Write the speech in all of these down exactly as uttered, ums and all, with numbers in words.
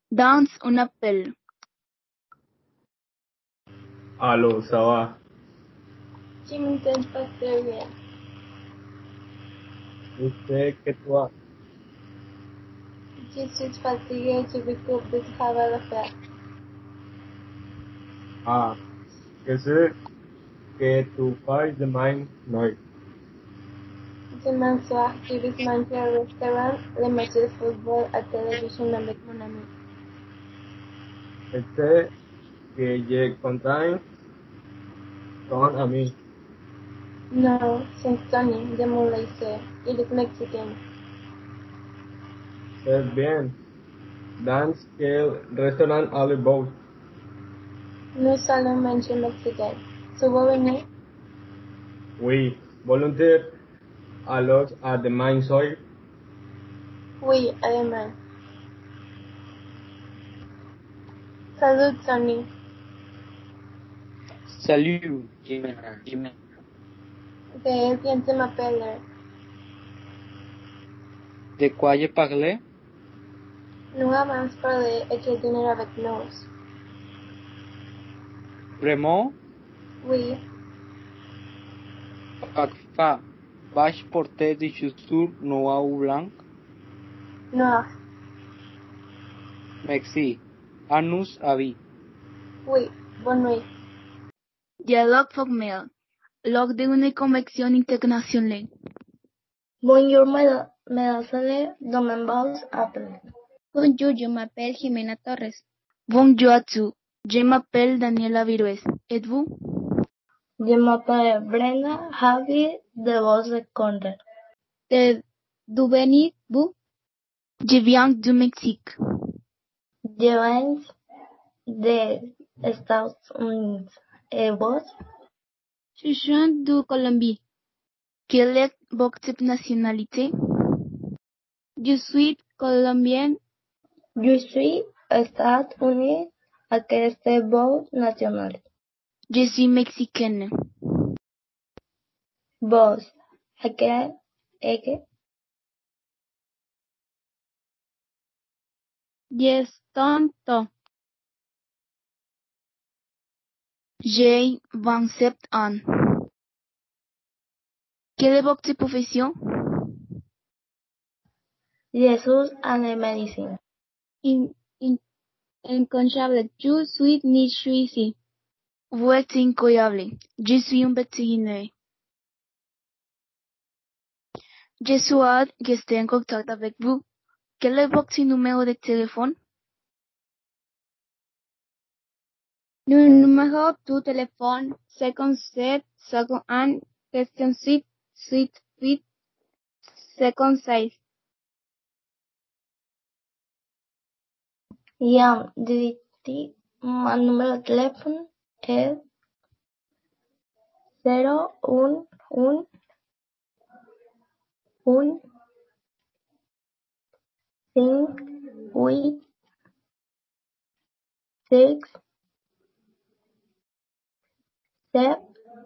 Dans un appel. Allô, ça va? Je m'entends pas très bien. Je sais que toi, Je suis fatiguée, j'ai beaucoup de travail à faire. ah, que sé que tu fais demain noite. Demain soir, je vais manger au restaurant le match de football à télévision avec mon ami. Je sais que je contain ton ami. Non, c'est Tony de mon lycée. Il est mexicain. C'est bien. Dans quel restaurant allez-vous? Nous allons manger mexicain. Tu veux venir? Oui, volontaire. Alors, à demain soir. Oui, además. Salut, Tony. Salut, Jimena. Jimena. De bien tu m'appelles. De quoi je parlais? Nous avons parlé et je dîner avec nous. Vraiment? Oui, Parfois, vaig porter des chaussures noires ou blanc? noir. Merci. À nous avis. Oui, bonne nuit. Dialogue formel. Log de una convención internacional. Bonjour, mesdemoiselles, demain vous appelle. Bonjour, je m'appelle Jimena Torres. Bonjour à tous. Je m'appelle Daniela Virués. Et vous? Je m'appelle Brenda Javi de Voz de Conde. De d'où venez-vous? Je viens du Mexique. Je viens des États-Unis. Et vous? Je suis de Colombie. Quelle est votre nationalité? Je suis colombienne. Je suis États-Unis. ¿A qué es votre nationalité? Je suis mexicaine. Vos, ¿a qué es que? J'ai tonto. J'ai vingt-sept ans. Quelle est votre profession? Jesús and medicine. In, in, incroyable. Je suis ni ici. Vous êtes incroyable. Je suis un vétérinaire. Je suis hâte que esté en contact avec vous. Quel est votre numéro de téléphone? Le numéro de téléphone cinquante-sept, cinquante-un, soixante-huit, soixante-huit, cinquante-six. Ya, dirigí, mi número de teléfono es cero uno uno uno cinco ocho seis siete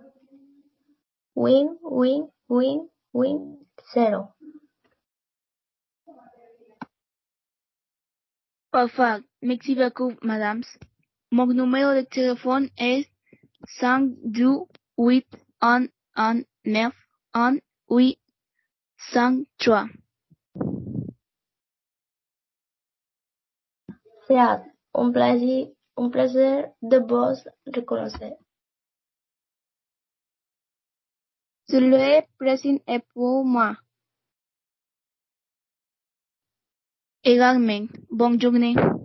win win win win cero. Parfait. Merci beaucoup, madame. Mon numéro de téléphone est cinq deux huit un un neuf un huit cinq trois. Sea un placer, un placer de vos reconocer. Je le présente et pour moi. Également, bonne journée.